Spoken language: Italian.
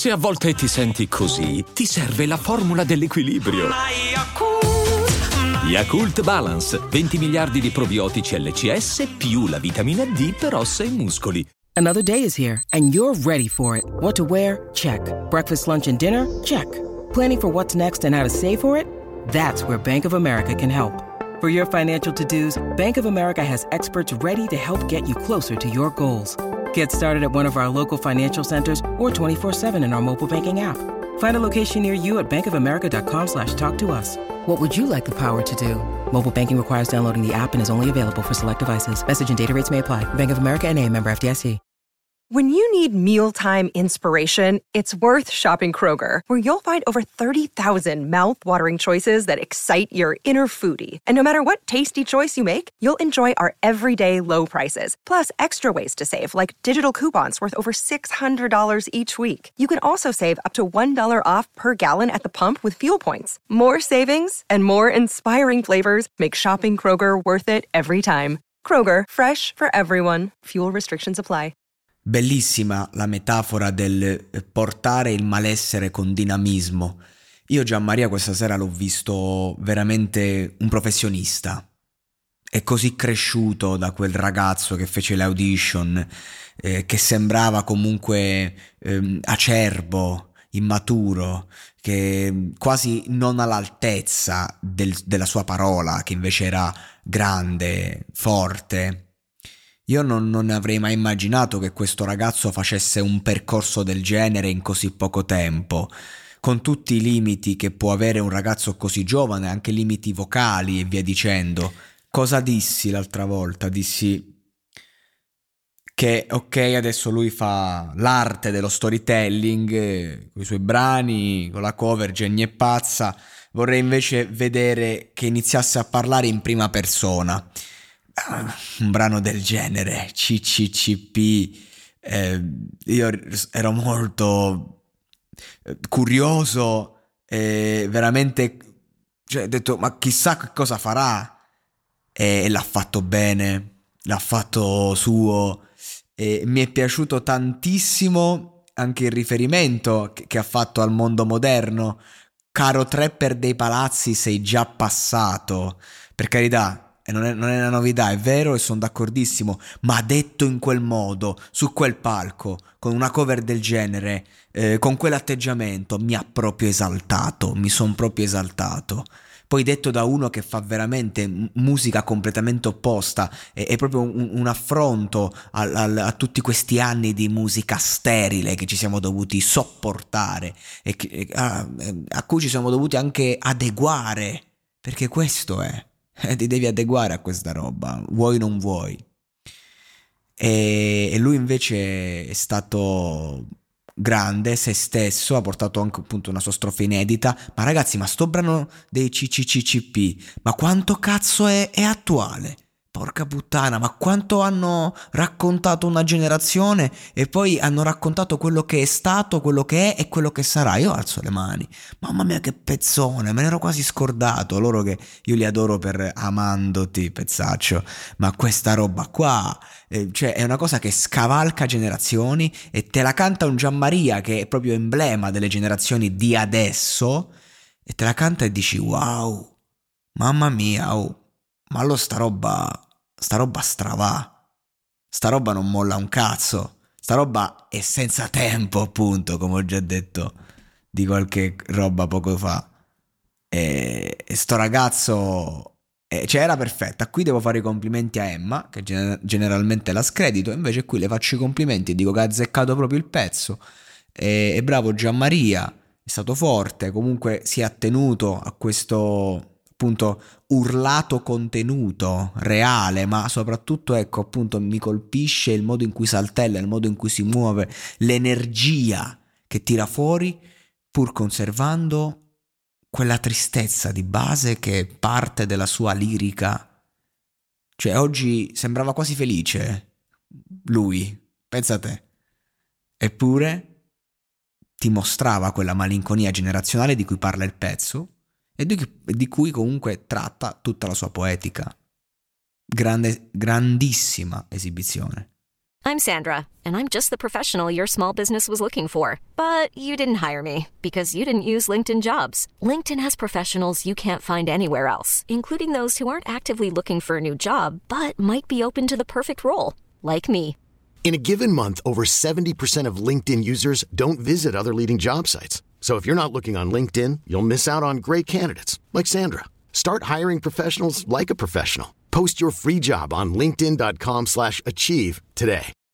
Se a volte ti senti così, ti serve la formula dell'equilibrio. Yakult Balance, 20 miliardi di probiotici LCS più la vitamina D per ossa e muscoli. Another day is here, and you're ready for it. What to wear? Check. Breakfast, lunch, and dinner? Check. Planning for what's next and how to save for it? That's where Bank of America can help. For your financial to-dos, Bank of America has experts ready to help get you closer to your goals. Get started at one of our local financial centers or 24/7 in our mobile banking app. Find a location near you at bankofamerica.com/talktous. What would you like the power to do? Mobile banking requires downloading the app and is only available for select devices. Message and data rates may apply. Bank of America N.A., member FDIC. When you need mealtime inspiration, it's worth shopping Kroger, where you'll find over 30,000 mouth-watering choices that excite your inner foodie. And no matter what tasty choice you make, you'll enjoy our everyday low prices, plus extra ways to save, like digital coupons worth over $600 each week. You can also save up to $1 off per gallon at the pump with fuel points. More savings and more inspiring flavors make shopping Kroger worth it every time. Kroger, fresh for everyone. Fuel restrictions apply. Bellissima la metafora del portare il malessere con dinamismo. Io Gianmaria questa sera l'ho visto veramente un professionista. È così cresciuto da quel ragazzo che fece le audition, che sembrava comunque acerbo, immaturo, che quasi non all'altezza della sua parola, che invece era grande, forte. Io non avrei mai immaginato che questo ragazzo facesse un percorso del genere in così poco tempo, con tutti i limiti che può avere un ragazzo così giovane, anche limiti vocali e via dicendo. Cosa dissi l'altra volta? Dissi che ok, adesso lui fa l'arte dello storytelling, con i suoi brani, con la cover Jenny è pazza, vorrei invece vedere che iniziasse a parlare in prima persona. Un brano del genere, CCCP, io ero molto curioso e veramente, cioè, ho detto ma chissà che cosa farà, e l'ha fatto bene, l'ha fatto suo, e mi è piaciuto tantissimo anche il riferimento che ha fatto al mondo moderno. Caro trapper dei palazzi, sei già passato, per carità. E non è una novità, è vero, e sono d'accordissimo, ma detto in quel modo, su quel palco, con una cover del genere, con quell'atteggiamento, mi ha proprio esaltato, mi sono proprio esaltato. Poi detto da uno che fa veramente musica completamente opposta, è proprio un affronto a tutti questi anni di musica sterile che ci siamo dovuti sopportare e a cui ci siamo dovuti anche adeguare, perché questo è. Ti devi adeguare a questa roba, vuoi o non vuoi. E lui invece è stato grande, se stesso, ha portato anche appunto una sua strofa inedita. Ma ragazzi, ma sto brano dei CCCCP, ma quanto cazzo è attuale? Porca puttana, ma quanto hanno raccontato una generazione e poi hanno raccontato quello che è stato, quello che è e quello che sarà. Io alzo le mani, mamma mia che pezzone, me ne ero quasi scordato. Loro che io li adoro per Amandoti, pezzaccio, ma questa roba qua, cioè è una cosa che scavalca generazioni e te la canta un Gianmaria che è proprio emblema delle generazioni di adesso, e te la canta e dici wow, mamma mia, oh. Ma allora sta roba stravà, sta roba non molla un cazzo, sta roba è senza tempo, appunto, come ho già detto di qualche roba poco fa. E sto ragazzo, cioè era perfetta. Qui devo fare i complimenti a Emma, che generalmente la scredito, invece qui le faccio i complimenti e dico che ha azzeccato proprio il pezzo. E bravo Gianmaria, è stato forte, comunque si è attenuto a questo appunto urlato contenuto reale, ma soprattutto ecco appunto mi colpisce il modo in cui saltella, il modo in cui si muove, l'energia che tira fuori pur conservando quella tristezza di base che è parte della sua lirica. Cioè oggi sembrava quasi felice lui, pensa te, eppure ti mostrava quella malinconia generazionale di cui parla il pezzo e di cui comunque tratta tutta la sua poetica. Grandissima esibizione. I'm Sandra, and I'm just the professional your small business was looking for. But you didn't hire me because you didn't use LinkedIn Jobs. LinkedIn has professionals you can't find anywhere else, including those who aren't actively looking for a new job, but might be open to the perfect role, like me. In a given month, over 70% of LinkedIn users don't visit other leading job sites. So if you're not looking on LinkedIn, you'll miss out on great candidates like Sandra. Start hiring professionals like a professional. Post your free job on linkedin.com/achieve today.